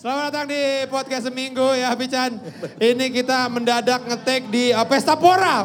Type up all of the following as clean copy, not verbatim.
Selamat datang di podcast seminggu ya Pican. Ini kita mendadak ngetek di Pesta Pora.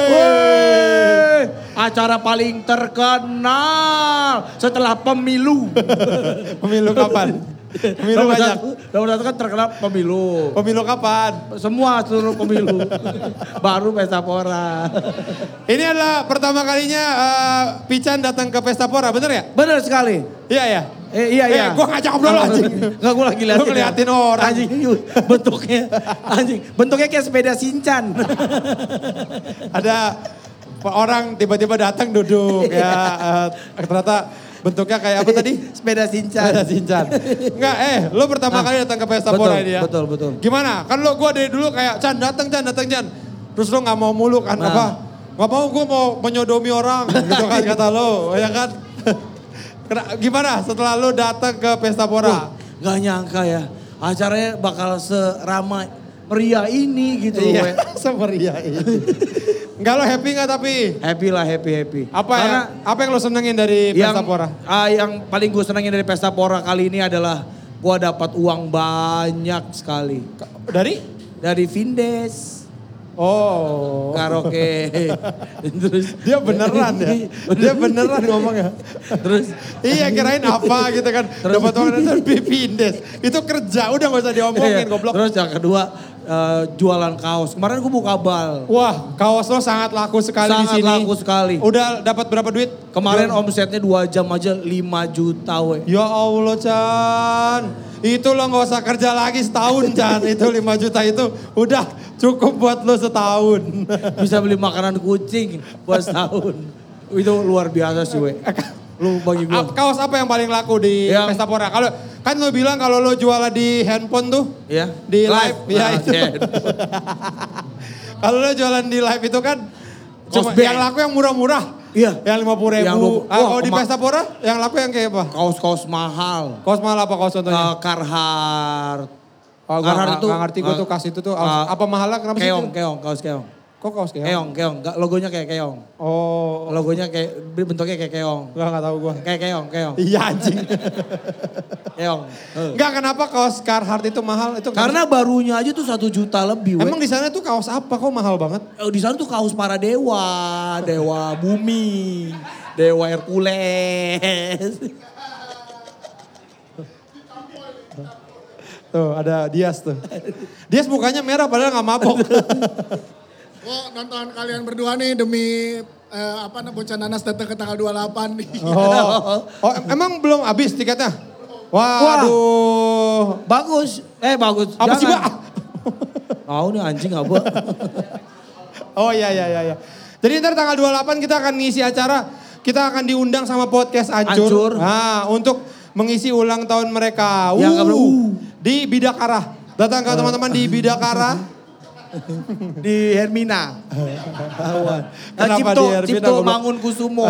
Acara paling terkenal setelah pemilu. Pemilu kapan? Pemilu banyak. Nomor satu kan terkenal pemilu. Pemilu kapan? Semua seluruh pemilu. Baru Pesta Pora. Ini adalah pertama kalinya Pican datang ke Pesta Pora, bener ya? Benar sekali. Iya ya? Iya. Gue ngajak ngobrol anjing. Enggak, gue lagi liatin. Lu ngeliatin orang. Anjing, bentuknya kayak sepeda Shinchan. Ada orang tiba-tiba datang duduk ya. Ternyata bentuknya kayak apa tadi? Sepeda Shinchan. Sepeda Shinchan. Enggak, lu pertama kali datang ke Pesta Pora ini ya? Betul. Gimana? Kan gue dari dulu kayak Chan datang Chan. Terus lo gak mau mulu kan apa? Gak mau, gue mau menyodomi orang gitu kan kata lo, ya kan? Gimana setelah lo datang ke Pesta Pora? Gak nyangka ya, acaranya bakal seramai meriah ini gitu. Iya, semeriah ini. Enggak, lo happy gak tapi? Happy lah, happy. Apa yang lo senengin dari Pesta Pora? Yang paling gue senengin dari Pesta Pora kali ini adalah gue dapat uang banyak sekali. Dari Vindes. Oh. Karaoke. Terus dia beneran ya? Dia beneran ngomongnya. Terus iya kirain apa gitu kan. Dapat uang dari Vindes. Itu kerja, udah gak usah diomongin goblok. Terus yang kedua jualan kaos. Kemarin gue buka bal. Wah, kaos lo sangat laku sekali di sini. Sangat laku sekali. Udah dapat berapa duit? Kemarin omsetnya 2 jam aja 5 juta we. Ya Allah Chan. Itu lo gak usah kerja lagi setahun Chan. Itu 5 juta itu udah cukup buat lo setahun. Bisa beli makanan kucing buat setahun. Itu luar biasa sih we. Lu bagi gua. Kaos apa yang paling laku di Pesta Pora? Kalau kan lo bilang kalau lo jualan di handphone tuh, ya, di live, ya itu. Kalau lo jualan di live itu kan cuma yang laku yang murah-murah. Iya. Yang 50.000. Kalau di Pesta Pora yang laku yang kayak apa? Kaos-kaos mahal. Kaos mahal apa kaos contohnya? Carhartt. Carhartt itu. Gak ngerti gue tuh kas itu tuh. Apa mahalnya kenapa sih? Kaos keong. Kok kaos keong? Keong. Logonya kayak keong. Oh. Logonya kayak, bentuknya kayak keong. Gak tahu gue. Kayak keong. Iya anjing. Keong. Enggak, kenapa kaos Carhartt itu mahal? Itu karena barunya aja tuh 1 juta lebih. Emang di sana tuh kaos apa kok mahal banget? Di sana tuh kaos para dewa. Dewa bumi. Dewa Hercules. Tuh ada Dias tuh. Dias mukanya merah padahal gak mabok. Oh, nonton kalian berdua nih demi Bocah Nanas datang ke tanggal 28 nih. Oh, emang belum habis tiketnya? Waduh. Bagus. Bagus. Apa sih, Pak? Tahu nih anjing apa. Oh iya. Jadi ntar tanggal 28 kita akan ngisi acara. Kita akan diundang sama podcast Ancur. Nah, untuk mengisi ulang tahun mereka. Di Bidakara. Datang ke teman-teman di Bidakara. Di Hermina. Kenapa di Hermina? Cipto Mangunkusumo.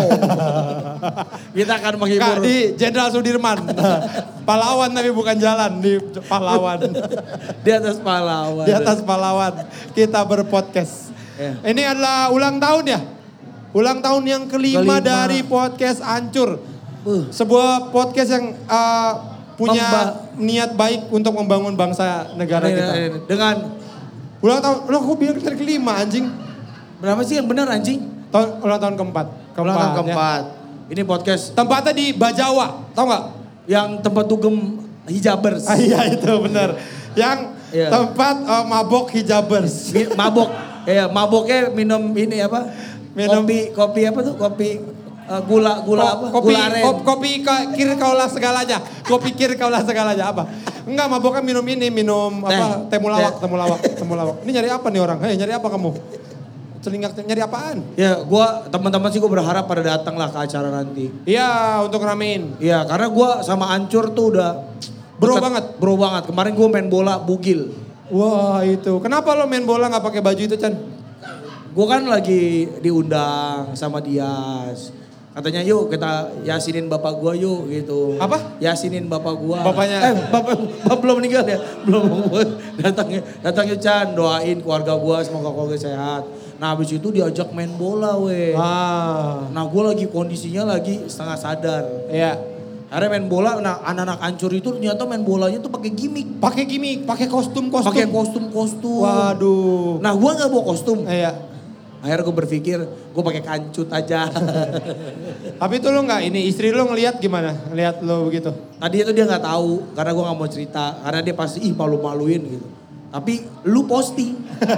Kita akan menghibur. Di Jenderal Sudirman. Pahlawan tapi bukan jalan, di pahlawan. Di atas pahlawan. Di atas pahlawan. Kita berpodcast. Ini adalah ulang tahun ya? Ulang tahun yang kelima dari podcast Ancur. Sebuah podcast yang punya niat baik untuk membangun bangsa negara kita. Dengan ulang tahun, aku bilang dari kelima anjing. Berapa sih yang benar anjing? Ulang tahun keempat. Ulang tahun keempat. Ya. Ini podcast. Tempatnya di Bajawa, tau gak? Yang tempat dugem hijabers. Iya itu benar. Yang tempat mabok hijabers. Mabok, maboknya minum ini apa? Kopi apa tuh? Kopi gula apa? Kopi gula aren. Kopi kir kaulah segalanya. Kopi kir kaulah segalanya apa? Enggak, maboknya minum apa? Temulawak. Ini nyari apa nih orang? Hei, nyari apa kamu? Celingak nyari apaan? Ya, teman-teman sih gue berharap pada datang lah ke acara nanti. Iya, untuk ramein. Iya, karena gue sama Ancur tuh udah bro banget. Kemarin gue main bola bugil. Wah, itu. Kenapa lo main bola nggak pakai baju itu, Chan? Gue kan lagi diundang sama Dias. Katanya yuk kita yasinin bapak gua yuk gitu. Apa? Yasinin bapak gua. Bapaknya? Bapak belum meninggal ya? Belum. Datang yuk Chan, doain keluarga gua semoga keluarga sehat. Nah habis itu diajak main bola weh. Nah gue lagi kondisinya lagi setengah sadar. Iya. Akhirnya main bola, nah anak-anak hancur itu ternyata main bolanya tuh pakai gimmick. Pakai kostum. Pakai kostum. Waduh. Nah gue gak bawa kostum. Iya. Akhirnya gue berpikir gue pakai kancut aja. Tapi itu lo nggak ini istri lo ngelihat gimana? Ngelihat lo begitu? Tadi itu dia nggak tahu karena gue nggak mau cerita karena dia pasti malu-maluin gitu. Tapi lu posting.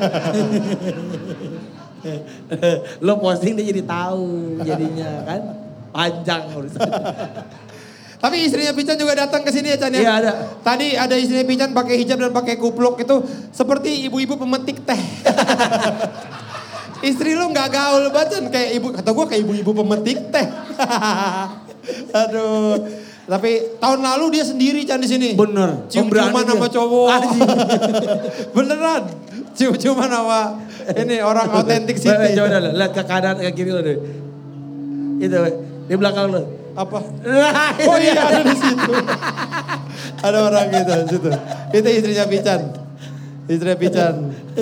Lo posting dia jadi tahu jadinya kan panjang urusan. Tapi istrinya Pican juga datang ke sini ya Chan ya? Iya ada. Tadi ada istrinya Pican pakai hijab dan pakai kupluk itu seperti ibu-ibu pemetik teh. Istri lu nggak gaul banget kayak ibu, kata gue kayak ibu-ibu pemetik teh. Aduh. Tapi tahun lalu dia sendiri Chan di sini. Bener. Cium-ciuman sama cowok. Beneran. Cium-ciuman sama ini orang otentik city. Coba lihat ke kanan ke kiri lo deh. Itu di belakang lo. Apa? Oh iya ada di situ. Ada orang gitu di situ. Itu istrinya Pican. Istrinya Pican.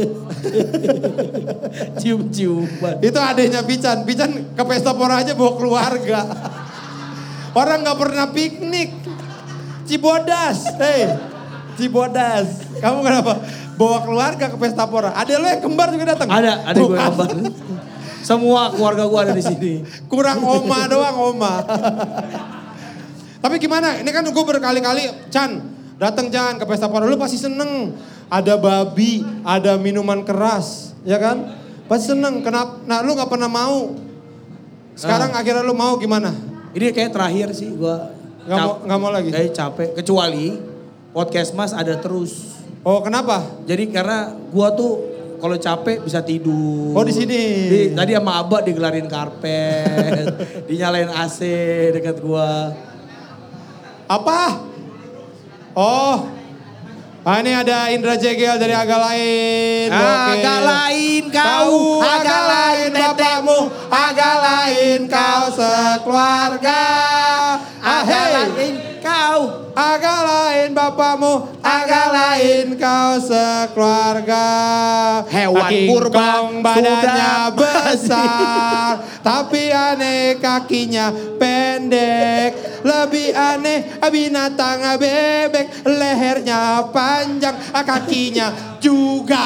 Cium-ciuman. Itu adiknya Pican. Pican ke pesta pora aja bawa keluarga. Orang gak pernah piknik. Cibodas. Hei. Cibodas. Kamu kenapa? Bawa keluarga ke pesta pora. Ada lo yang kembar juga datang? Ada gue kembar. Semua keluarga gue ada di sini. Kurang oma doang, oma. Tapi gimana? Ini kan gue berkali-kali, Chan, datang Chan ke pesta pora. Lu pasti seneng. Ada babi, ada minuman keras, ya kan? Pasti seneng. Kenapa? Nah, lu gak pernah mau. Sekarang akhirnya lu mau gimana? Ini kayak terakhir sih gue. Gak mau lagi? Kayak capek. Kecuali podcast Mas ada terus. Oh, kenapa? Jadi karena gue tuh kalau capek bisa tidur. Oh di sini. Tadi sama Abah digelarin karpet, dinyalain AC dekat gua. Apa? Oh, ini ada Indra Jegel dari Agak Lain. Agak lain kau, agak lain bapakmu, agak lain kau sekeluarga. Agak lain kau, agak lain bapakmu, agak lain kau sekeluarga. Hewan purba badannya besar, tapi aneh kakinya pendek. Lebih aneh binatang bebek, lehernya panjang, kakinya juga.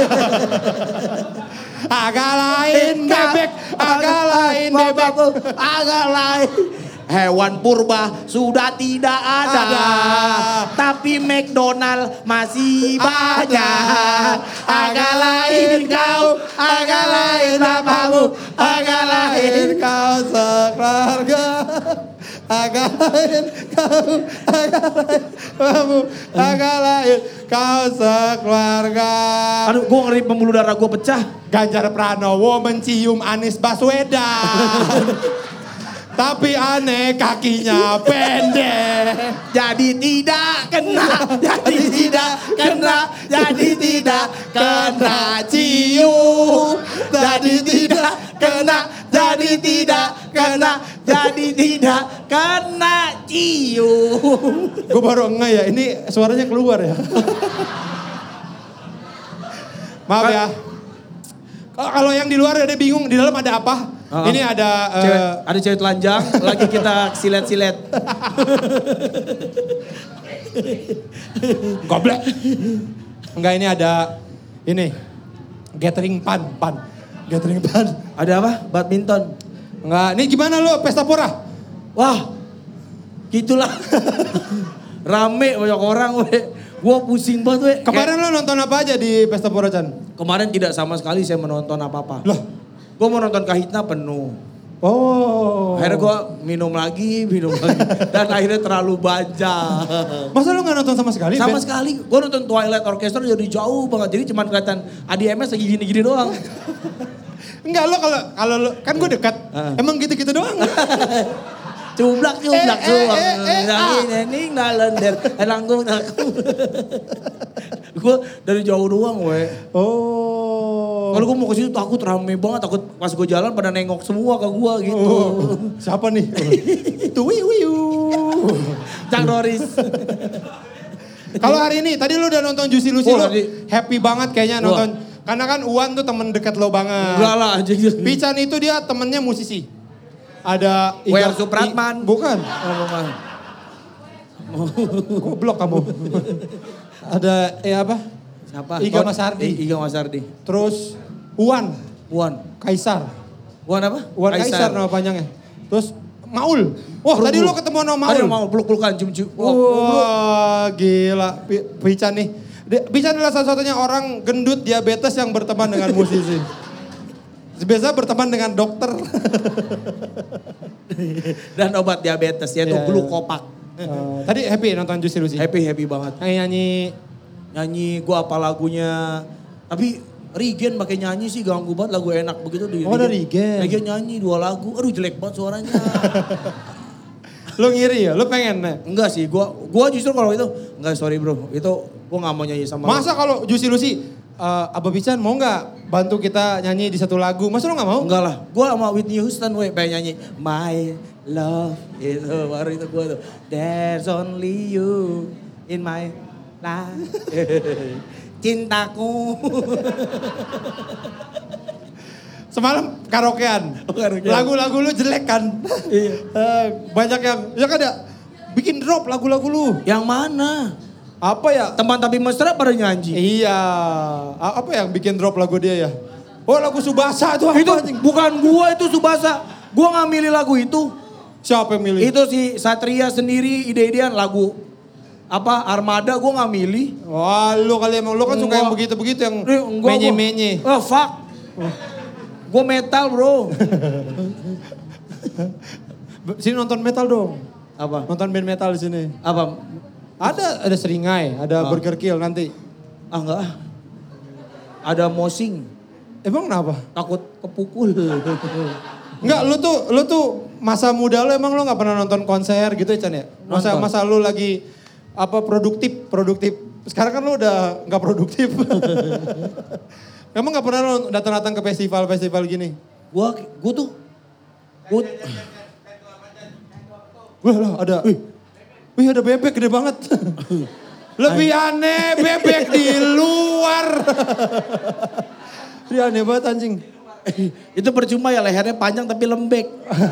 Agak lain bebek, agak lain bebek, agak lain. Hewan purba sudah tidak ada, tapi McDonald masih banyak. Agak lain kau, agak lain bapakmu, agak lain kau sekeluarga. Agak lain kau, agak lain bapakmu, agak lain kau sekeluarga. Aduh, gue ngeri pembuluh darah gue pecah. Ganjar Pranowo mencium Anies Baswedan. Tapi aneh kakinya pendek. Jadi tidak kena, jadi tidak kena, jadi tidak kena cium. Jadi tidak kena, jadi tidak kena, jadi tidak kena cium. Gue baru enggak ya, ini suaranya keluar ya. Maaf ya. Kalau yang di luar ada bingung, di dalam ada apa? Ini ada... ada cewek telanjang, lagi kita silet-silet. Goblok. Enggak, ini ada... Ini. Gathering pan. Gathering pan. Ada apa? Badminton. Enggak, ini gimana lo pesta pora? Wah, gitulah. Rame banyak orang weh. Gue pusing banget weh. Kemarin lo nonton apa aja di pesta pora Chan? Kemarin tidak sama sekali saya menonton apa-apa. Loh? Gue mau nonton Kahitna penuh. Oh. Akhirnya gue minum lagi. Dan akhirnya terlalu banyak. Masa lu gak nonton sama sekali? Sama sekali. Gue nonton Twilight Orchestra jadi jauh banget. Jadi cuma kelihatan ADMS lagi gini-gini doang. Enggak, lo kalau lo kan gue dekat. Emang gitu-gitu doang. Cublak. Ini ngalender. Langkung. Gue dari jauh doang weh. Oh. Kalau gue mau ke situ takut rame banget. Takut pas gue jalan pada nengok semua ke gue gitu. Oh. Siapa nih? Itu wiu. Cang Doris. Kalau hari ini, tadi lu udah nonton Juicy Lucy, lo happy banget kayaknya nonton. Karena kan Uwan tuh temen deket lo banget. Enggak lah. Pican itu dia temennya musisi. Ada W.R. Supratman. Bukan. Goblok kamu. Ada apa? Siapa? Iga Masardi. Iga Masardi. Terus Uwan. Kaisar. Uwan apa? Uwan Kaisar nama panjangnya. Terus Maul. Wah tadi lo ketemu sama Maul. Ada Maul, peluk-pelukan, cium-cium. Wah gila. Pican nih. Pican adalah satu-satunya orang gendut diabetes yang berteman dengan musisi. Biasa berteman dengan dokter. Dan obat diabetes yaitu glukopak. Tadi happy nonton Juicy Lucy? Happy banget. Nyanyi gue apa lagunya. Tapi Rigen pakai nyanyi sih ganggu banget, lagu enak begitu. Ada Rigen. Rigen nyanyi 2 lagu, aduh jelek banget suaranya. Lo ngiri ya? Lo pengen? Enggak sih, gue justru kalau itu, enggak sorry bro. Itu gue gak mau nyanyi sama Masa kalau Juicy Lucy, Abah Pican mau gak bantu kita nyanyi di satu lagu? Masa lo gak mau? Enggak lah, gue sama Whitney Houston pengen nyanyi My Love. Itu baru itu gue tuh. There's only you in my life. Cintaku. Semalam karaokean. Lagu-lagu lu jelek kan? Iya. Banyak yang, ya kan ya, bikin drop lagu-lagu lu. Yang mana? Apa ya? Teman tapi mesra pada nyanyi. Iya. Apa yang bikin drop lagu dia ya? Oh lagu Subasa itu apa? Itu bukan gua, itu Subasa. Gua gak milih lagu itu. Siapa yang milih? Itu si Satria sendiri ide-idean lagu. Apa Armada gue gak milih. Wah lu kali emang, lu kan suka yang begitu-begitu yang menye-menye. Oh fuck. Gue metal bro. Sini nonton metal dong. Apa? Nonton band metal di sini. Apa? Ada Seringai, ada Burger Kill nanti. Enggak. Ada Mosing. Emang kenapa? Takut kepukul. Enggak, lu tuh masa muda lu emang lu gak pernah nonton konser gitu ya Chan ya? Masa lu lagi produktif. Sekarang kan lu udah gak produktif. Emang gak pernah lu datang-datang ke festival gini? Gua Wah lah ada. Wih ada bebek gede banget. Lebih aneh bebek di luar. Dia aneh banget anjing. Itu percuma ya lehernya panjang tapi lembek.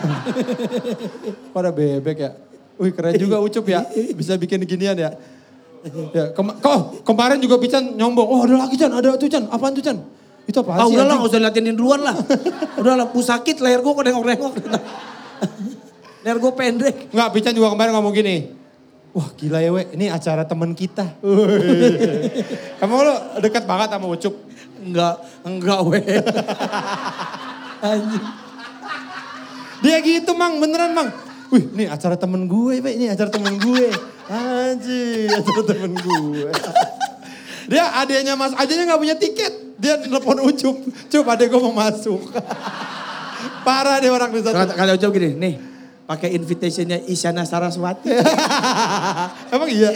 Pada bebek ya. Wih keren juga Ucup ya. Bisa bikin ginian ya. Ya kemarin juga Pican nyombong. Oh ada lagi Chan, ada tuh Chan. Apaan tuh Chan? Itu apaan sih? Udahlah gak usah liatin duluan lah. Udahlah pusakit leher gue kok nengok-nengok. Leher gue pendek. Enggak, Pican juga kemarin ngomong gini. Wah gila ya we, ini acara temen kita. Emang lo dekat banget sama Ucup? Enggak we. Anjing. Dia gitu Mang, beneran Mang. Wih ini acara temen gue we, ini acara temen gue. Anjir, acara temen gue. Dia adeknya gak punya tiket. Dia nelfon Ucup. Cup adek gue mau masuk. Parah deh orang di sana. Kata Ucup gini, nih pakai invitationnya Isyana Saraswati. Emang iya?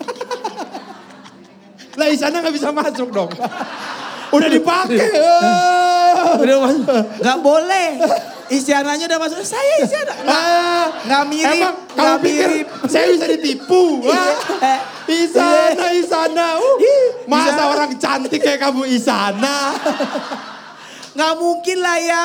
Lah Isyana gak bisa masuk dong. Udah dipakai. Udah masuk. Gak boleh. Isyananya udah masuk. Saya Isyana. Gak mirip. Emang kamu pikir saya bisa ditipu? Isyana. Masa orang cantik kayak kamu Isyana? Gak mungkin lah ya.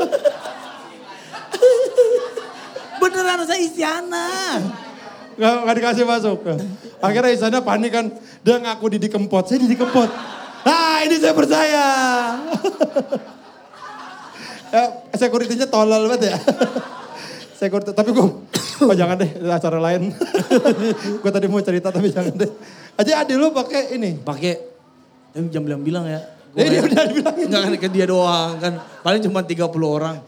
Beneran saya Isyana. Gak dikasih masuk. Akhirnya Isyana panik kan. Dia ngaku Didi Kempot. Saya Didi Kempot. Nah ini saya percaya. Sekuritinya tolol banget ya. Tapi gue, jangan deh acara lain. Gue tadi mau cerita tapi jangan deh. Aja adik lu pakai ini. Pakai, tapi jangan bilang ya. Dia udah dibilangin. Enggak kan ke dia doang kan. Paling cuma 30 orang.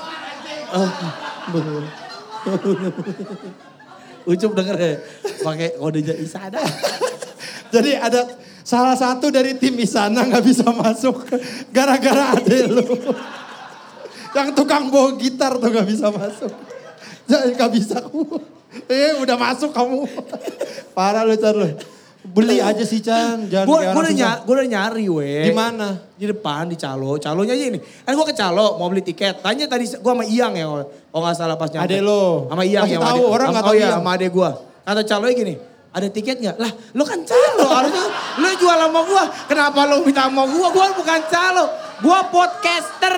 Ucup denger ya. Pakai kode Isyana. Jadi ada salah satu dari tim Isyana gak bisa masuk. Gara-gara adek lu. Yang tukang bawa gitar tuh gak bisa masuk. Jadi gak bisa kamu. Udah masuk kamu. Parah lu Chan lu. Beli aja sih Chan. Gue udah nyari weh. Di mana? Di depan di Calo. Calonya aja ini. Kan gue ke Calo mau beli tiket. Tanya tadi gue sama Iyang ya. Oh gak salah pas nyampe. Adek lo. Sama Iyang ya. Tahu orang gak tahu Iyang. Sama adek gue. Kata Calonya gini. Ada tiket gak? Lah lu kan Calo. Harusnya lu jual sama gue. Kenapa lu minta sama gue? Gue bukan Calo. Gue podcaster.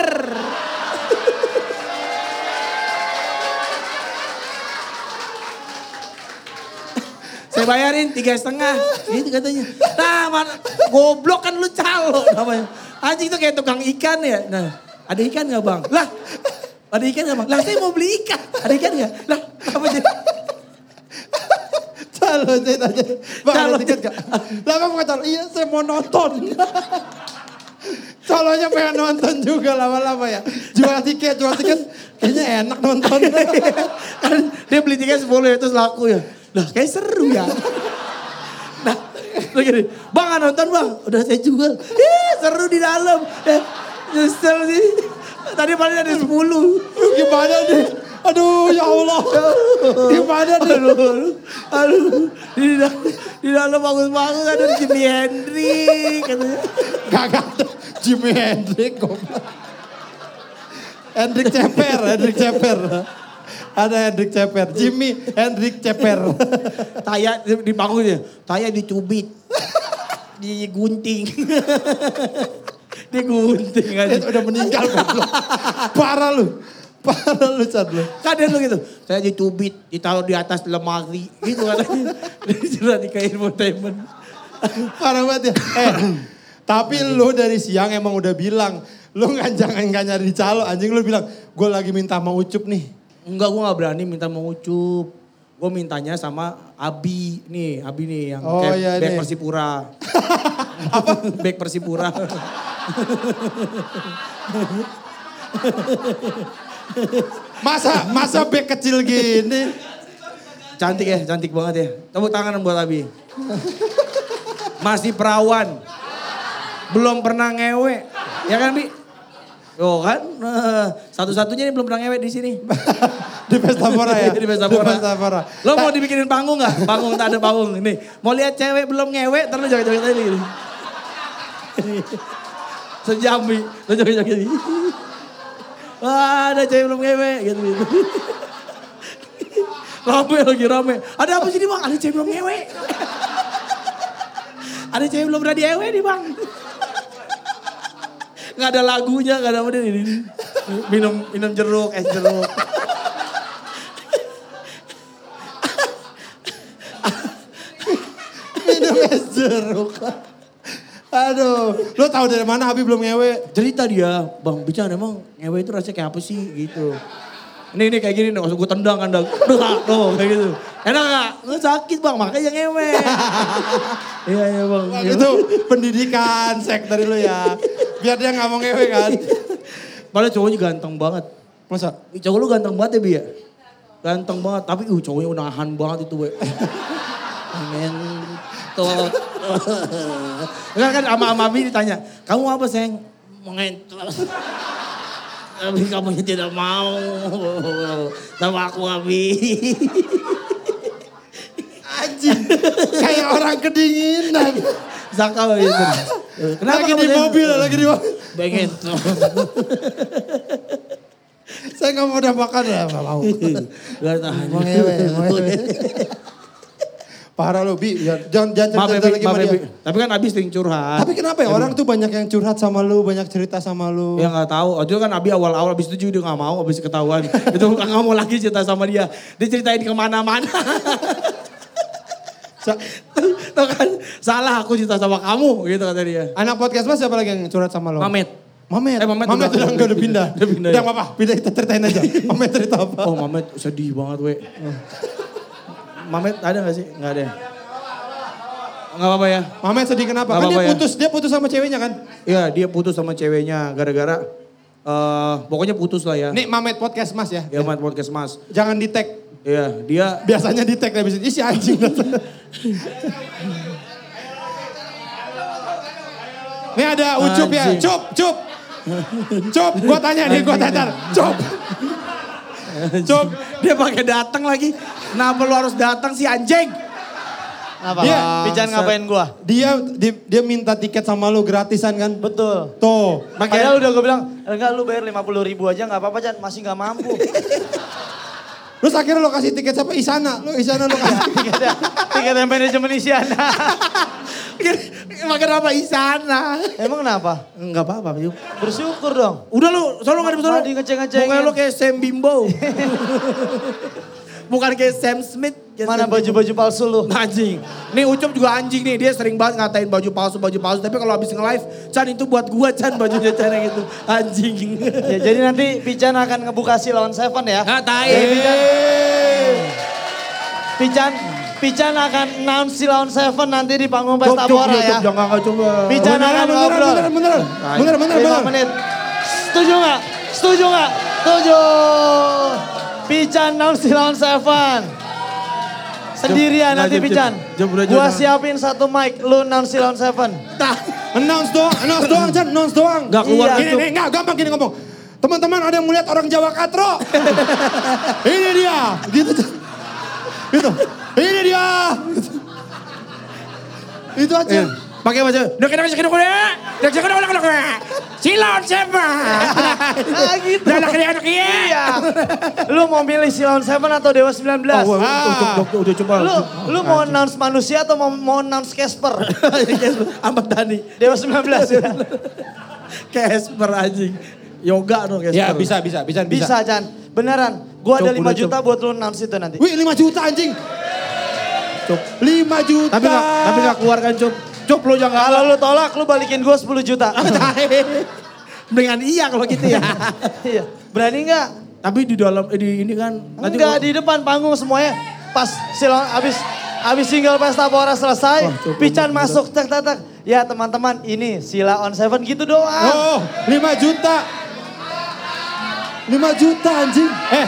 Saya bayarin 3,5. Gitu katanya. Nah goblok kan lu calo namanya. Anjing tuh kayak tukang ikan ya. Nah ada ikan gak bang? Lah ada ikan gak bang? Lah saya mau beli ikan. Ada ikan gak? Lah apa jadi? Calo saya tanya. Bang ada tiket gak? Lah kamu kata iya saya mau nonton. Calonya pengen nonton juga lama-lama ya. Jual tiket. Kayaknya enak nonton. Kan dia beli tiket 10 ya terus laku ya. Lah kayak seru ya. Nah gini, bang gak nonton bang? Udah saya jual. Seru di dalam. Nyesel sih. Tadi paling ada 10. Gimana nih? Aduh ya Allah. Gimana nih? Aduh. Di dalam bagus-bagus ada Jimi Hendrix. Gak ada. Jimi Hendrix goblok. Hendrix Ceper. Ada Hendrix Ceper. Jimi Hendrix Ceper. Taya di panggungnya. Taya dicubit. Digunting. Digunting aja. Udah meninggal goblok. Parah lu Chan lu. Kadang lu gitu. Saya dicubit, ditaruh di atas lemari. Gitu katanya. Sudah di kayak infotainment. Parah banget ya. Tapi lu dari siang emang udah bilang. Lu jangan nyari calo. Anjing lu bilang, gue lagi minta mau Ucup nih. Enggak, gue gak berani minta mau Ucup. Gue mintanya sama Abi nih yang kayak iya, back nih. Persipura. Apa? Back Persipura. Masa back kecil gini. Cantik banget ya. Tepuk tangan buat Abi. Masih perawan. Belum pernah ngewe. Ya kan Bi? Oh kan, satu-satunya ini belum pernah ngewe di sini. Di Pesta Pora ya? Di Pesta Pora. Lo mau dibikinin panggung gak? Panggung, tak ada panggung. Nih, mau lihat cewek belum ngewe, terus joget-joget aja gini. Sejam Bi, lo joget-joget gini. Wah ada cewek belum ngewe, gitu. Rame. Ada apa sih nih bang? Ada cewek belum ngewe. Ada cewek belum pernah diewe nih bang. Gak ada lagunya, gak ada apa ini. Minum jeruk, es jeruk. Minum es jeruk. Aduh, lo tahu dari mana Abi belum ngewe? Cerita dia, bang Bican emang ngewe itu rasanya kayak apa sih gitu. Ini kayak gini nih, langsung gue tendang kan. Tuh kayak gitu. Enak gak? Nggak sakit bang, makanya ngewe. Iya bang. Itu pendidikan sek dari lo ya. Biar dia gak mau ngewe kan. Padahal cowoknya ganteng banget. Masa? Cowok lu ganteng banget ya Bi ya? Ganteng banget, tapi cowoknya unahan banget itu. Ngentot. Kan sama Abi ditanya, kamu apa sayang? Mengentot. Tapi kamu tidak mau sama aku Abi. Anjing, kayak orang kedinginan. Zakal gitu. Kenapa Lagi di mobil. Pengen. Saya gak mau udah makan ya, gak mau. Gak tahan. Mau ngewe. Parah lo Bi, jangan cerita lagi sama dia. Tapi kan Abi sering curhat. Tapi kenapa ya orang tuh banyak yang curhat sama lu, banyak cerita sama lu. Ya gak tahu, itu kan Abi awal-awal abis itu juga dia gak mau, abis ketahuan. Itu gak mau lagi cerita sama dia. Dia ceritain kemana-mana. Tuh kan, salah aku cerita sama kamu gitu kata dia. Anak podcast Mas siapa lagi yang curhat sama lo? Mamet Mamet udah pindah. Udah ya. apa-apa, pindah kita ceritain aja. Mamet cerita apa? Oh Mamet sedih banget we. Mamet ada gak sih? Gak ada. Gak apa-apa ya. Mamet sedih kenapa? Kan dia putus sama ceweknya kan? Iya dia putus sama ceweknya gara-gara pokoknya putus lah ya. Nih Mamet podcast Mas ya. Ya Mamet podcast Mas. Jangan di tag. Iya dia. Biasanya di tag habis itu si anjing. Nih ada Ucup ya. Cup, gua tanya. Cup, dia pakai datang lagi. Kenapa lu harus datang sih anjing? Apa? Bican ngapain gua? Dia minta tiket sama lu gratisan kan? Betul. Tuh. Makanya udah gue bilang, enggak lu bayar 50.000 aja gak apa-apa Jan, masih gak mampu. Terus akhirnya lo kasih tiket siapa? Isana lo kasih Tiket yang manajemen Isyana. Makan apa Isana? Emang kenapa? Enggak apa-apa. Bersyukur dong. Udah lu, selalu gak ada Tadi ngeceng-ngecengin. Pokoknya lu kayak Sam Bimbo. Bukan kayak Sam Smith. Mana baju-baju palsu lu? Anjing. Nih Ucup juga anjing nih. Dia sering banget ngatain baju palsu. Tapi kalau habis nge-live, Chan itu buat gua Chan bajunya Chan yang itu. Anjing. Ya, jadi nanti Pican akan ngebuka Silon Seven ya. Pican akan announce Silon Seven nanti di panggung Pesta Pora ya. Jangan coba. Pican akan ngobrol. Bener. 5 menit. Setuju gak? Setuju. Pican announce Silon Seven. Sendirian nanti Pican. Gua siapin 1 mic, lu announce Silon Seven. Announce doang, Chan, announce doang. Gak keluar gitu. Ini enggak gampang gini ngomong. Teman-teman ada yang melihat orang Jawa katro. Ini dia. Gitu. Ini dia. Itu aja. Pakai baju. Silon Seven. Gitu. Iya. Lu mau milih Silon Seven atau Dewa 19? Udah coba. Lu mau announce manusia atau mau announce Casper? Ahmad Dhani. Dewa 19 ya. Casper anjing. Yoga dong Casper. Ya bisa. Bisa Chan. Beneran. Gua ada 5 juta buat lu announce itu nanti. Wih 5 juta anjing. 5 juta. Tapi gak keluar kan Cup lu jangan. Kalau lu tolak lu balikin gua 10 juta. Mendingan iya kalau gitu ya. Iya. Berani gak? Tapi di dalam ini kan. Enggak, di depan panggung semuanya. Pas Silon abis single Pesta Pora selesai, Pican masuk tak. Ya teman-teman ini Sila on Seven gitu doang. 5 juta. 5 juta anjing.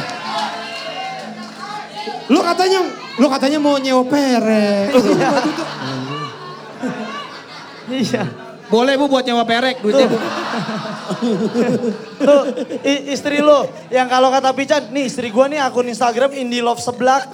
Lu katanya mau nyewa perek. Iya. Boleh Bu buat nyewa perek duitnya Bu. Tuh, istri lu yang kalau kata Pican, nih istri gua nih akun Instagram Indie Love Seblak.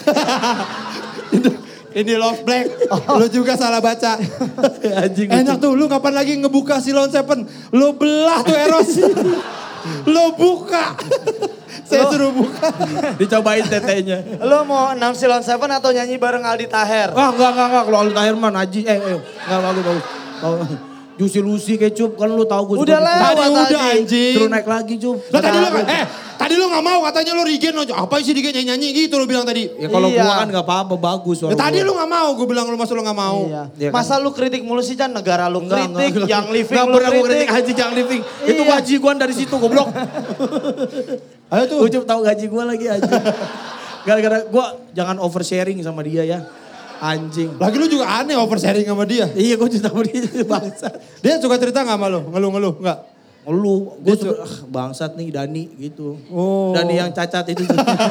Ini Love Black. Lu juga salah baca. Enak tuh, lu kapan lagi ngebuka Silon Seven? Lu belah tuh Eros. Lu buka. Saya suruh buka. Dicobain tetenya. Lu mau announce Silon Seven atau nyanyi bareng Aldi Taher? Enggak. Kalau Aldi Taher mah Naji. Enggak bagus. Juicy Lucy Kecup kan lu tahu gue. Udah lewat udah anjing. Terus naik lagi Cup. Tadi lu gak mau katanya lu Rigen. Apa sih Rigen nyanyi gitu lu bilang tadi. Ya kalau gua kan gak apa-apa bagus. Tadi lu gak mau, gue bilang lu masa lu gak mau. Iya. Masa lu kritik mulu sih Chan, negara lu kritik, yang living lu pernah gue kritik kritik. Haji yang living. Itu gaji gua dari situ goblok. Ayo tuh. Ucup tahu gaji gua lagi aja. Gara-gara gua jangan oversharing sama dia ya. Anjing. Lagi lu juga aneh oversharing sama dia. Iya gue cerita sama dia bangsa. Dia suka cerita gak sama lu? Ngeluh-ngeluh enggak? Ngeluh. Gue bangsat nih Dani gitu. Oh. Dani yang cacat itu.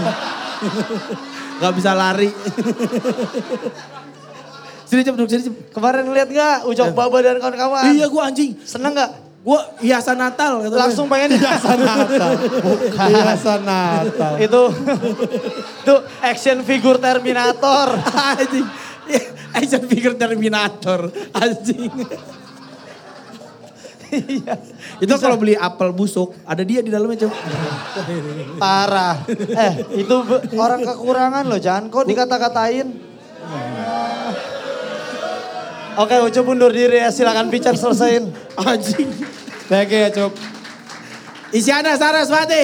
Gak bisa lari. Sini Cep, duduk sini Cep. Kemarin ngeliat gak Ucok Baba dan kawan-kawan? Iya gue anjing. Seneng gak? Gue hiasan Natal. Langsung pengen hiasan Natal. Bukan. Hiasan Natal. Itu action figure Terminator. Anjing. Action figure Terminator. Anjing. Iya. Itu kalau beli apel busuk, ada dia di dalamnya Cep. Parah. Itu orang kekurangan loh, jangan kok dikata-katain. Oke, Ucup undur diri ya, silakan Pican selesaiin. Anjing. Thank you ya Cup. Isyana Saraswati.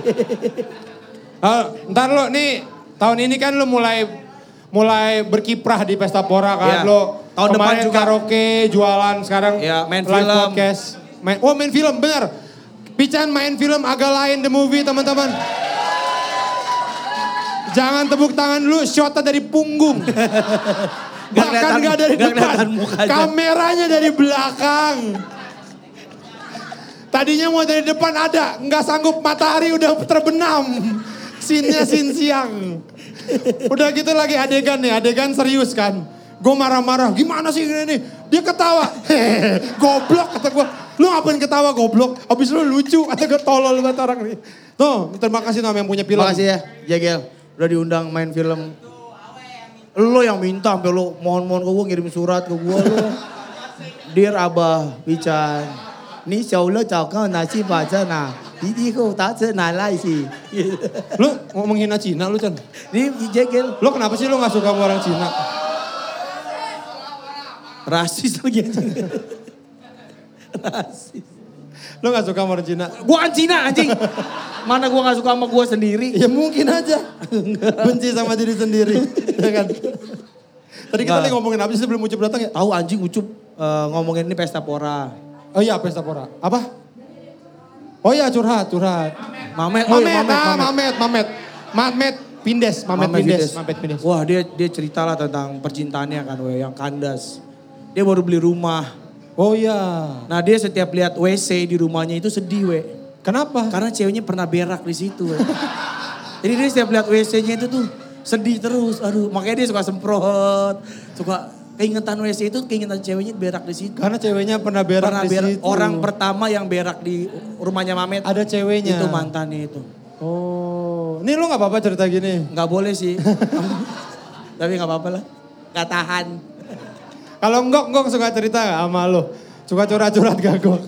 Ntar lo nih, tahun ini kan lo mulai berkiprah di Pesta Pora kan. Ya. Lo Tahun depan kemarin juga karaoke, jualan, sekarang ya, main live film. podcast. Main film, bener. Pican main film agak lain the movie teman-teman. Jangan tepuk tangan dulu, shotnya dari punggung. Bahkan gak dari depan, kameranya dari belakang. Tadinya mau dari depan ada, nggak sanggup matahari udah terbenam. Scene-nya scene siang. Udah gitu lagi adegan nih, adegan serius kan. Gue marah-marah, gimana sih ini? Dia ketawa, goblok kata gue. Lu ngapain ketawa goblok? Abis lu lucu, kata gue tolol banget orang nih. Tuh, terima kasih Nom yang punya film. Makasih ya, Jagel. Udah diundang main film. Lo yang minta sampai lo mohon-mohon ke gue ngirim surat ke gue lo. Dear Abah Pican, ni show lo chào con nasi baca na. Di ko ta na lai sih. Lu mau menghina Cina lu Chan? Ini Jagel. Lu kenapa sih lu gak suka sama orang Cina? Rasis lagi anjing. Rasis. Lu gak suka sama orang Cina? Gua kan Cina anjing. Mana gue gak suka sama gue sendiri. Ya mungkin aja. Benci sama diri sendiri. Ya kan? Tadi kita lagi ngomongin apa sih sebelum Ucup datang ya? Tahu anjing Ucup ngomongin ini pesta pora. Oh iya pesta pora. Apa? Oh iya curhat. Mamet. Pindes. Wah dia cerita lah tentang percintaannya kan yang kandas. Dia baru beli rumah. Oh iya. Nah dia setiap lihat WC di rumahnya itu sedih Kenapa? Karena ceweknya pernah berak di situ Jadi dia setiap lihat WC-nya itu tuh sedih terus. Aduh makanya dia suka semprot. Suka keingetan WC itu keingetan ceweknya berak di situ. Karena ceweknya pernah berak di situ. Orang pertama yang berak di rumahnya Mamet. Ada ceweknya. Itu mantannya itu. Oh. Ini lu gak apa-apa cerita gini? Gak boleh sih. Tapi gak apa-apa lah. Gak tahan. Kalau Enggok suka cerita gak sama lu? Suka curhat-curhat gak Gok?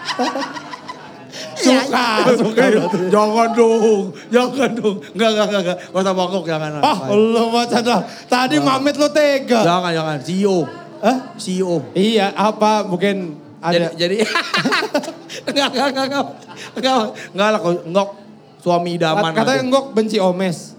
Suka. Jangan dong. Enggak. Gak usah bangkok, jangan. Lu macam dah. Tadi Mamet lu tega. Jangan. CEO. Hah? CEO. Iya, apa mungkin ada. Jadi enggak lah Enggok suami idaman. Katanya Enggok benci Omes.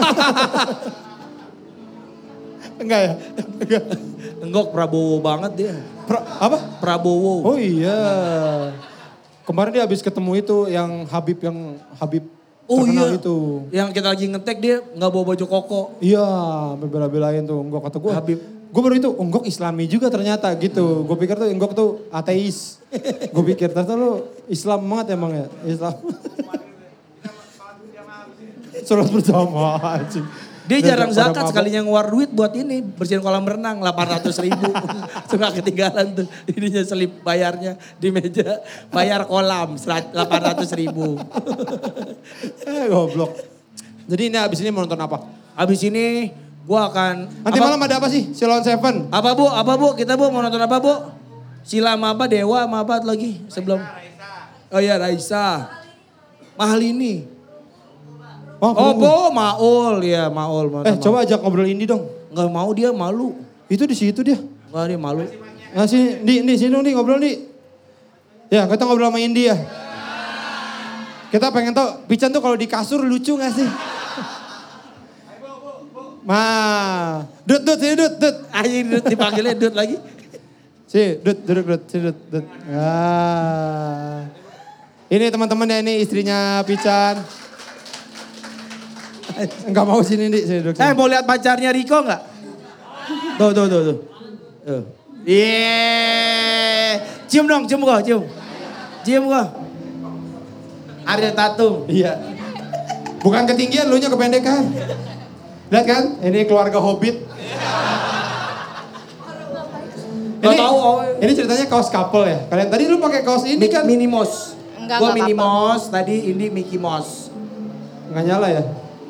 Enggak ya? Enggok Prabowo banget dia. Apa? Prabowo. Oh iya. Kemarin dia habis ketemu itu yang Habib Oh terkenal iya. itu. Yang kita lagi ngetek dia nggak bawa baju koko. Iya, bela-belain tuh Enggok kata gue. Habib. Gue baru itu Enggok Islami juga ternyata gitu. Gue pikir tuh Enggok tuh ateis. Gue pikir ternyata lu Islam banget emang ya. Islam. Sholat berjamaah anjing. Dia jarang zakat sekalinya ngeluar duit buat ini. Bersihin kolam renang 800.000. Suka ketinggalan tuh. Ininya selip bayarnya di meja. Bayar kolam 800.000. Goblok. Jadi ini abis ini mau nonton apa? Abis ini gua akan... Nanti malam ada apa sih? Silon Seven. Apa bu? Kita bu mau nonton apa bu? Sila sama apa? Dewa sama apa lagi sebelum? Oh iya Raisa. Mahal ini. Maul ya Maul. Coba ajak ngobrol Indi dong. Nggak mau dia malu. Itu di situ dia. Nggak dia malu. Nah sini dong ngobrol Di. Ya kita ngobrol sama Indi ya. Kita pengen tahu Pican tuh kalau di kasur lucu gak sih? Dut sini Dut. Ayo Dut dipanggilnya Dut lagi. Duduk Dut. Ini teman-temannya ini istrinya Pican. Enggak mau sini duduk sini. Mau lihat pacarnya Riko enggak? Tuh. Cium dong, cium gua. Ariel Tatum. Iya. Bukan ketinggian, lu nya kependekan. Lihat kan? Ini keluarga Hobbit. Ini ceritanya kaos couple ya. Kalian tadi lu pakai kaos ini kan? Minnie Mouse. Enggak Gua Minnie apa-apa. Mouse, tadi Indi Mickey Mouse. Enggak nyala ya?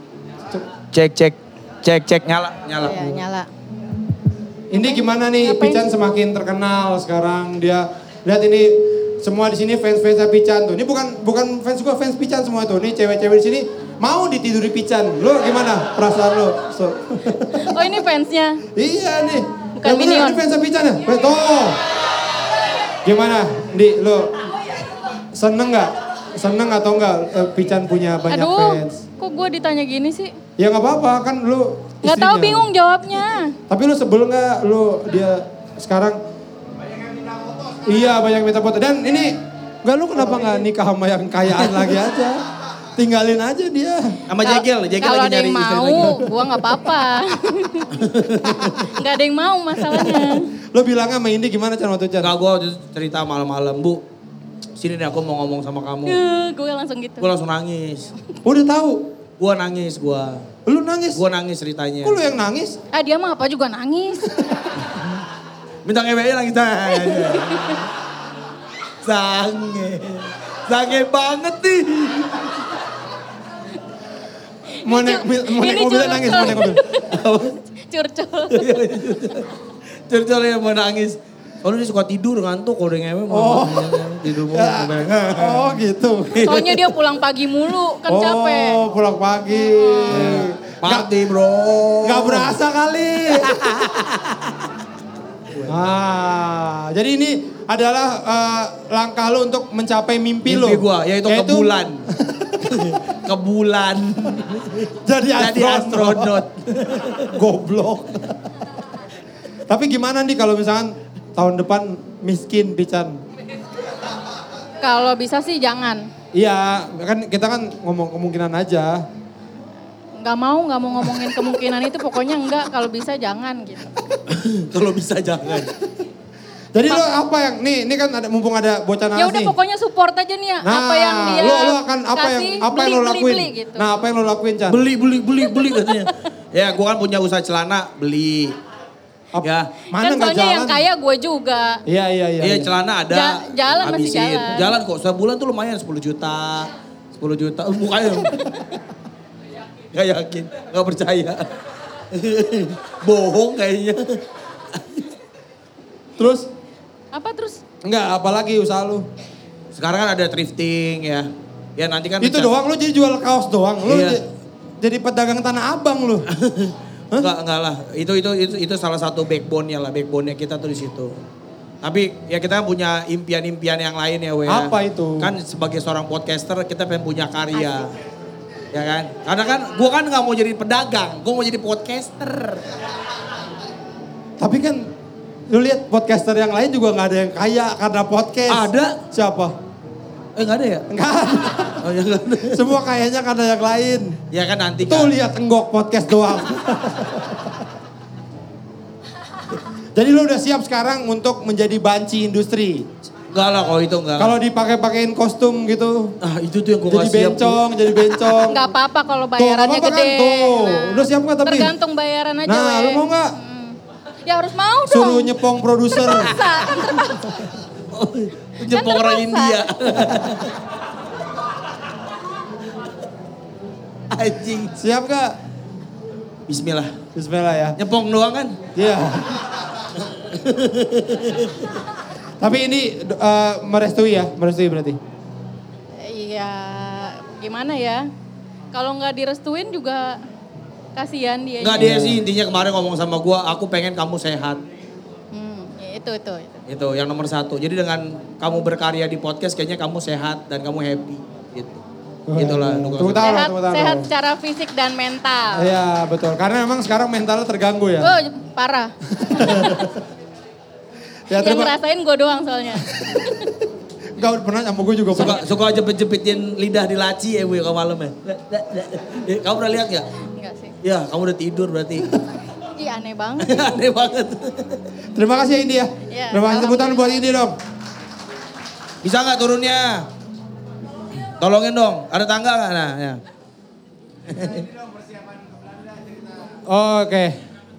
Cek nyala. Iya, nyala. Ini gimana nih? Ngapain Pican sih? semakin terkenal sekarang. Dia lihat ini semua di sini fans-fansnya Pican tuh. Ini bukan fans gua, fans Pican semua tuh. Nih cewek-cewek di sini mau ditiduri Pican. Lu gimana perasaan lu? Oh ini fansnya. Iya nih. Bukan Yang bener, Minion. ini fansnya Pican ya? Tuh. Gimana? Lu seneng gak? Seneng atau enggak Pican punya banyak fans? Kok gue ditanya gini sih? Ya gak apa-apa kan lu Gak tahu istrinya. bingung jawabnya. Tapi lu sebel gak dia sekarang? Iya banyak minta foto. Dan ini enggak lu kenapa gak nikah sama yang kayaan lagi aja? Tinggalin aja dia. Sama Jegel Kalau lagi ada nyari yang istri mau, lagi. gue gak apa-apa. Gak ada yang mau masalahnya. Lu bilangnya sama Indi gimana Chan waktu Chan? Enggak, gue cerita malam-malam, Bu. Sini nih aku mau ngomong sama kamu. Gue langsung gitu. Gue langsung nangis. Udah tahu. Gue nangis. Lu nangis? Gue nangis ceritanya. Kok lu yang nangis? Dia mah apa juga nangis. Minta ngewe lagi Sange banget nih. Mau naik mobil nangis, mau naik mobil. Curcol. Curcol yang mau nangis. Soalnya dia suka tidur ngantuk kalau udah ngewe. Tidur mulu. Oh gitu. Soalnya dia pulang pagi mulu, kan capek. Oh pulang pagi. Mati bro. Gak berasa kali. Jadi ini adalah langkah lu untuk mencapai mimpi lu. Mimpi gue, yaitu ke bulan. Ke bulan. Jadi Jadi astronot. Goblok. Tapi gimana nih kalau misalkan tahun depan miskin Pican? Kalau bisa sih jangan. Iya, kan kita kan ngomong kemungkinan aja. Nggak mau ngomongin kemungkinan itu, pokoknya enggak, kalau bisa jangan gitu. Kalau bisa jangan. Jadi lo apa yang, ini kan ada, mumpung ada bocah Ya nanas udah nih. pokoknya support aja nih ya, Nah, apa yang dia lo akan apa kasih, yang lo lakuin? beli gitu. Nah, apa yang lo lakuin, Chan? Beli katanya. Ya gue kan punya usaha celana, beli. Ya. Mana Kan nggak soalnya jalan? yang kaya gue juga. Iya. Iya celana ada. Jalan masih habisin. jalan. Jalan kok, sebulan tuh lumayan 10 juta. 10 juta, mukanya. Gak yakin, gak percaya. Bohong kayaknya. Terus? Apa terus? Enggak, apalagi usaha lu? Sekarang kan ada thrifting ya. Ya nanti kan. Itu doang, lu jadi jual kaos doang. Lu Iya. jadi pedagang tanah abang lu. Enggak lah. Itu salah satu backbone-nya lah. Backbone-nya kita tuh di situ. Tapi ya kita punya impian-impian yang lain ya, Wea. Apa itu? Kan sebagai seorang podcaster kita pengen punya karya. Ya kan? Karena kan gue kan gak mau jadi pedagang, gue mau jadi podcaster. Tapi kan lu lihat podcaster yang lain juga gak ada yang kaya karena podcast. Ada. Siapa? Gak ada ya? Enggak ada. Oh ya gak ada. Semua kayaknya karena yang lain. Ya kan nanti Tuh kan. lihat Enggok podcast doang. Jadi lu udah siap sekarang untuk menjadi banci industri? Enggak lah kalau itu enggak. Kalau dipakai-pakein kostum gitu. Itu tuh yang gue Jadi gak siap. jadi bencong. Nggak apa-apa kalau Tuh, bayarannya nggak apa-apa gede. kan? Tuh, udah siap nggak tapi? Tergantung bayaran aja. Nah, lu mau nggak? Ya harus mau dong. Suruh nyepong produser. Terpaksa, kan terpaksa. Jepang orang terpaksa. India. Anjing. Siap gak? Bismillah. Bismillah ya. Nyepong doang kan? Iya. Tapi ini merestui ya? Merestui berarti? Iya, gimana ya? Kalau nggak direstuin juga kasihan dia. Enggak, dia sih intinya kemarin ngomong sama gua, aku pengen kamu sehat. Ya, itu. Itu yang nomor satu. Jadi dengan kamu berkarya di podcast kayaknya kamu sehat dan kamu happy gitu. Itulah. Tepuk tangan, tepuk tangan. Sehat secara fisik dan mental. Iya betul, karena memang sekarang mentalnya terganggu ya. Oh, parah. Ya, Yang ngerasain gue doang soalnya. Enggak pernah sama gue juga pernah. Suka jepit-jepitin lidah di laci ya Bu kalau malam ya. Kamu pernah lihat gak? Enggak sih. Ya kamu udah tidur berarti. Ih aneh banget. Aneh banget. Terima kasih ya Indi ya. Ya, Terima kasih tepuk tangan buat Indi dong. Bisa gak turunnya? Tolongin dong, ada tangga gak? Nah, ya. Oke.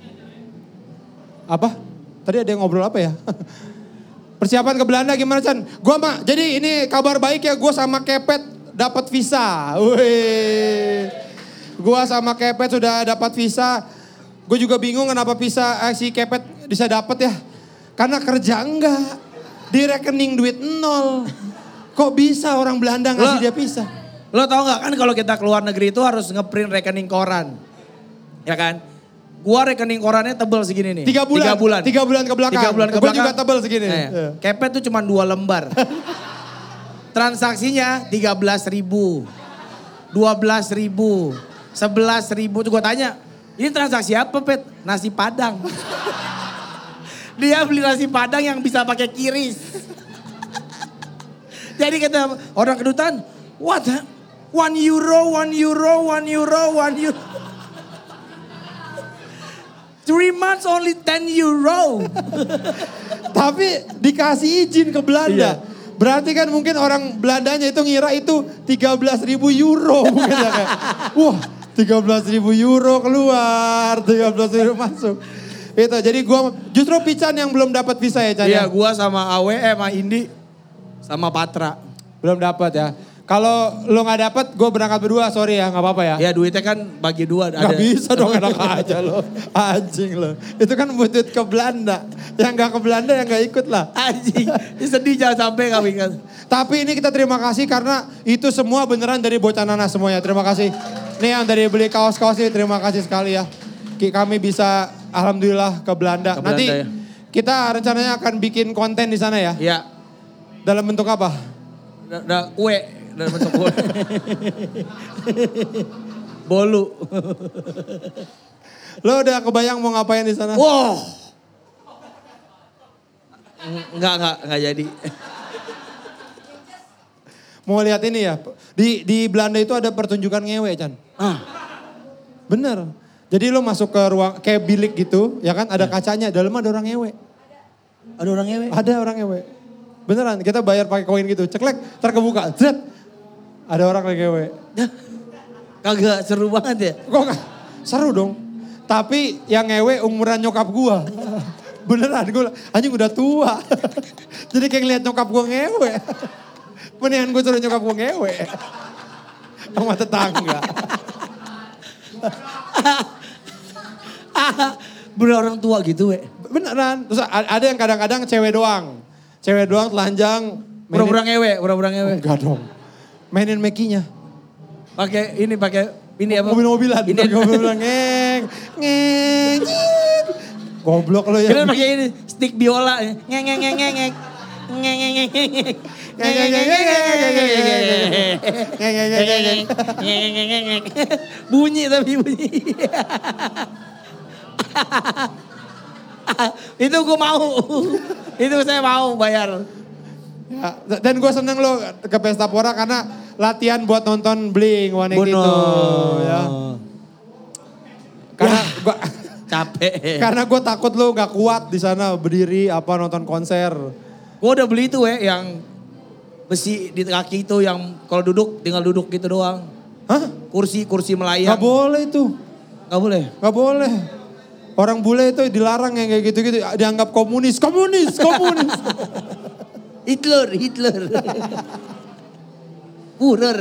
Apa? Tadi ada yang ngobrol apa ya? Persiapan ke Belanda gimana Chan? Jadi ini kabar baik ya, gue sama Kepet dapat visa. Wih. Gue sama Kepet sudah dapat visa. Gue juga bingung kenapa si Kepet bisa dapat ya. Karena kerja enggak. Di rekening duit 0. Kok bisa orang Belanda ngasih dia visa? Lo tau gak kan kalau kita keluar negeri itu harus ngeprint rekening koran. Ya kan? Gua rekening korannya tebel segini nih. 3 bulan. 3 bulan ke belakang. 3 bulan ke Gue belakang. juga tebel segini. Nah, ya. Kepet tuh cuma 2 lembar. Transaksinya 13.000. 12.000. 11.000. Tuh gue tanya, ini transaksi apa Pet? Nasi Padang. Dia beli nasi Padang yang bisa pakai kiris. Jadi kata orang kedutaan, what? 1 euro. 3 months only 10 euro. Tapi dikasih izin ke Belanda. Iya. Berarti kan mungkin orang Belandanya itu ngira itu 13.000 euro. Mungkin ya kayak, wah 13.000 euro keluar, 13.000 masuk. Itu jadi gua justru Pican yang belum dapat visa ya Chan. Iya gua sama Awe, sama Indi, sama Patra. Belum dapat ya. Kalau lo gak dapat, gue berangkat berdua, sorry ya, gak apa-apa ya. Ya duitnya kan bagi 2. Gak bisa dong, enak aja lo. Anjing lo. Itu kan buat duit ke Belanda. Yang gak ke Belanda yang gak ikut lah. Anjing, sedih jangan sampai kami kan. Tapi ini kita terima kasih karena itu semua beneran dari Bocah Nanas semuanya. Terima kasih. Nih yang dari beli kaos-kaos ini, terima kasih sekali ya. Kami bisa alhamdulillah ke Belanda. Ke Belanda Nanti ya. kita rencananya akan bikin konten di sana ya. Iya. Dalam bentuk apa? Kue. dalam bentuk bole. Bolu. Lo udah kebayang mau ngapain di sana? Wow. Enggak jadi. Mau lihat ini ya, di Belanda itu ada pertunjukan ngewe, Chan. Bener. Jadi lo masuk ke ruang, kayak bilik gitu, ya kan ada kacanya, dalamnya ada orang ngewe. Ada orang ngewe? Ada orang ngewe. Beneran, kita bayar pakai koin gitu, ceklek, terkebuka, zet. Ada orang lagi ngewe. Kagak seru banget ya? Kok gak? Seru dong. Tapi yang ngewe umuran nyokap gua. Beneran, gue anjing udah tua. Jadi kayak ngeliat nyokap gua ngewe. Mendingan gue suruh nyokap gue ngewe. Sama tetangga. Bener orang tua gitu we. Beneran. Terus ada yang kadang-kadang cewek doang. Cewek doang telanjang. Pura-pura ngewe. Enggak dong. Mainin mekinya. Pakai ini apa? Mobil-mobilan. Ini mobil-mobilan ngeng. Goblok lo ya. Kalian pakai ini stick biola. Ngeng. Bunyi. Itu gue mau. Itu saya mau bayar. Ya, dan gue seneng lo ke Pesta Pora karena latihan buat nonton Blink-182 gitu. Ya. Karena gua capek. Karena gue takut lo gak kuat di sana berdiri apa nonton konser. Gue udah beli itu yang besi di kaki itu yang kalau duduk tinggal duduk gitu doang. Hah? Kursi melayang. Gak boleh itu. Gak boleh? Gak boleh. Orang bule itu dilarang yang kayak gitu-gitu. Dianggap komunis. Hitler. Führer.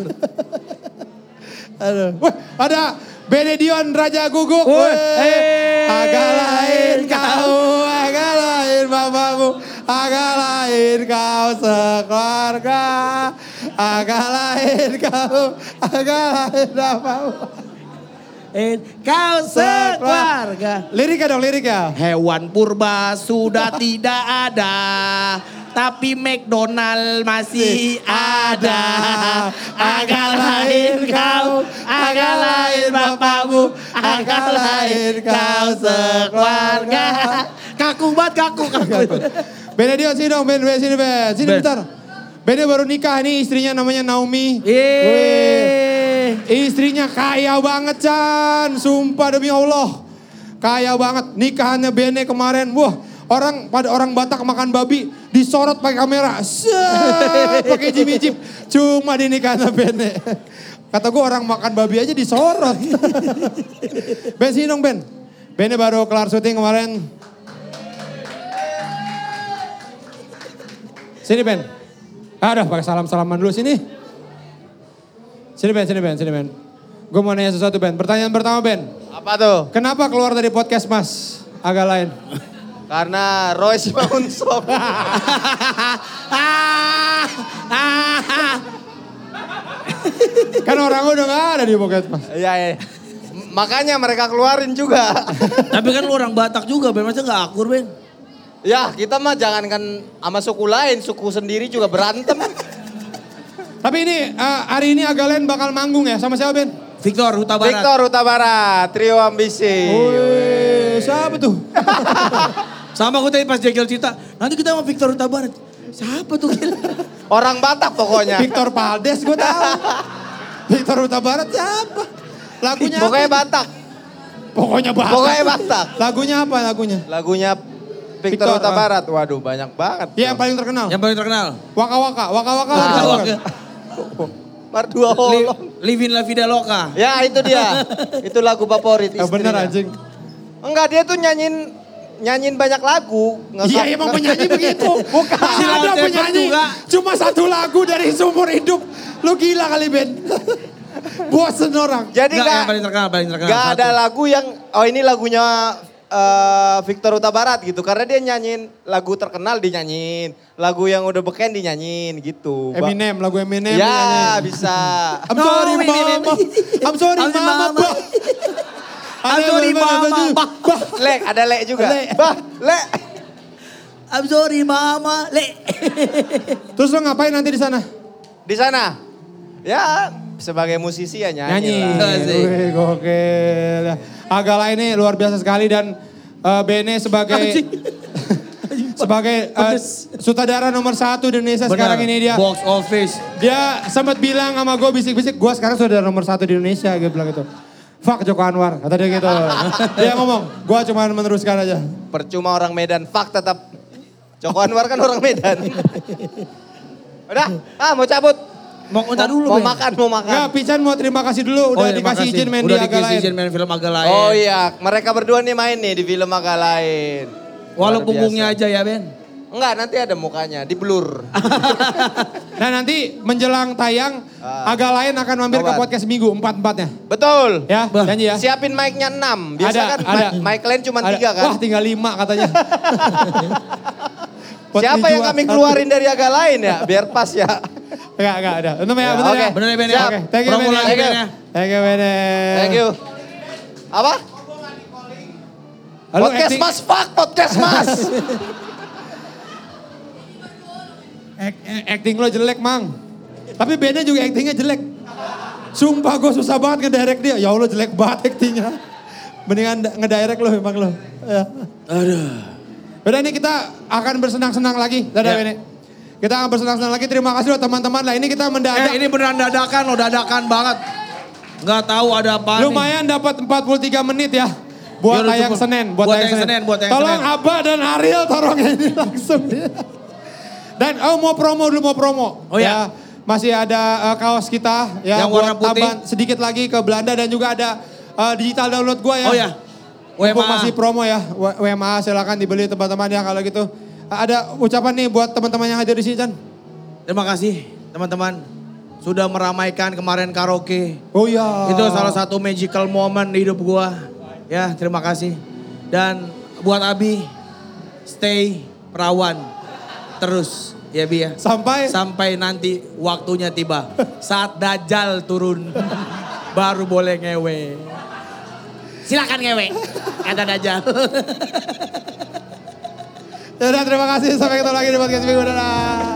Aduh. Wah, ada Benedion Raja Guguk. Agak lain kau, agak lain bapakmu. Agak lain kau sekeluarga. Agak lain kau, agak lain bapakmu. Kau sekeluarga. Liriknya dong, liriknya. Hewan purba sudah tidak ada. Tapi McDonald masih ada. Agak lain kau, agak lain bapakmu. Agak lain kau sekeluarga. Kaku banget, kaku. Benedion sini dong, Ben. Sini bentar. Bene baru nikah nih, istrinya namanya Naomi. Istrinya kaya banget, Chan. Sumpah demi Allah. Kaya banget. Nikahannya Bene kemarin. Wah, orang Batak makan babi disorot pakai kamera. Pakai jimmy-jim. Cuma di nikahannya Bene. Kata gue orang makan babi aja disorot. Ben sini dong, Ben. Bene baru kelar syuting kemarin. Sini, Ben. Udah pakai salam-salaman dulu sini. Sini Ben. Gue mau nanya sesuatu, Ben. Pertanyaan pertama, Ben. Apa tuh? Kenapa keluar dari podcast Mas? Agak lain. Karena Royce Maunsop. Kan orang udah gak ada di podcast Mas. Iya. Makanya mereka keluarin juga. Tapi kan lu orang Batak juga, Ben. Masa gak akur, Ben? Ya kita mah jangankan sama suku lain, suku sendiri juga berantem. Tapi ini hari ini Agak Lain bakal manggung ya sama siapa, Ben? Victor Huta Barat. Victor Huta Barat, Trio Ambisi. Siapa tuh? Sama aku tadi pas Jegel cerita, nanti kita sama Victor Huta Barat. Siapa tuh? Orang Batak pokoknya. Victor Paldes gue tahu. Victor Huta Barat siapa? Lagunya Pokoknya apa? Batak. Pokoknya Batak. Lagunya apa lagunya? Lagunya Victor Huta Barat. Waduh banyak banget. Iya yang paling terkenal. Yang paling terkenal. Waka Waka. Mardua Holong. Living La Vida Loca. Ya itu dia. Itu lagu favorit istrinya. Bener anjing. Enggak, dia tuh nyanyiin banyak lagu. Iya emang penyanyi begitu. Bukan. Ada penyanyi cuma satu lagu dari seumur hidup. Lu gila kali, Ben. Bosen orang. Jadi yang paling terkenal. Gak ada lagu yang, ini lagunya Victor Huta Barat gitu. Karena dia nyanyiin lagu terkenal dinyanyiin. Lagu yang udah beken dinyanyiin gitu. Eminem, lagu Eminem. Ya bisa. I'm sorry mama. I'm sorry mama. I'm sorry mama. Lek, ada Lek juga. Lek. I'm sorry mama. Lek. Terus lo ngapain nanti di sana? di sana? Ya sebagai musisi ya nyanyi. Wih, gokil. Agak lain nih luar biasa sekali dan Bene sebagai sebagai sutradara nomor 1 di Indonesia sekarang ini dia. Box office. Dia sempat bilang sama gue bisik-bisik, gue sekarang sutradara nomor 1 di Indonesia. Dia bilang gitu. Fuck Joko Anwar, kata dia gitu. Dia ngomong, gue cuma meneruskan aja. Percuma orang Medan, fuck tetap. Joko Anwar kan orang Medan. Udah, mau cabut. Mau dulu, mau makan. Enggak, Pican mau terima kasih dulu udah dikasih izin main di Agak Lain. Izin main film Agak Lain. Oh iya, mereka berdua nih main nih di film Agak Lain. Walau punggungnya aja ya Ben. Enggak, nanti ada mukanya, di blur. Nah nanti menjelang tayang, Agak Lain akan mampir ke podcast Minggu 4-4-nya. Betul. Ya, janji ya. Siapin mic-nya 6. Biasa kan mic lain cuma 3 kan. Wah tinggal 5 katanya. Siapa yang kami keluarin dari Agak Lain ya? Biar pas ya. Enggak ada. Bener ya, bener ya. Bener ya Ben. Oke, thank you Ben. Thank you Ben. Thank you. Apa? Halo, podcast acting. Mas, fuck podcast Mas. Acting lo jelek Mang. Tapi Bennya juga actingnya jelek. Sumpah gue susah banget ngedirect dia. Ya Allah jelek banget actingnya. Mendingan ngedirect lo emang lo. Ya. Aduh. Udah ini kita akan bersenang-senang lagi. Dadah Bene. Kita akan bersenang-senang lagi. Terima kasih loh teman-teman. Lah ini kita mendadak. Ini beneran dadakan banget. Nggak tahu ada apa. Lumayan dapat 43 menit ya. Buat tayang Senin. Buat tayang Senin. Tolong Abah dan Ariel taruh ini langsung. Dan mau promo dulu. Oh ya. Masih ada kaos kita ya. Yang warna putih. Tambah sedikit lagi ke Belanda dan juga ada digital download gua ya. Oh ya. Mumpung masih promo ya. WMA silakan dibeli teman-teman ya kalau gitu. Ada ucapan nih buat teman-teman yang hadir di sini Chan. Terima kasih teman-teman. Sudah meramaikan kemarin karaoke. Oh iya. Itu salah satu magical moment di hidup gua. Ya terima kasih. Dan buat Abi, stay perawan terus ya Bi ya. Sampai nanti waktunya tiba. Saat Dajjal turun baru boleh ngewe. Silakan ngewe, kata Dajjal. Yaudah terima kasih, sampai ketemu lagi di podcast minggu. Dadah.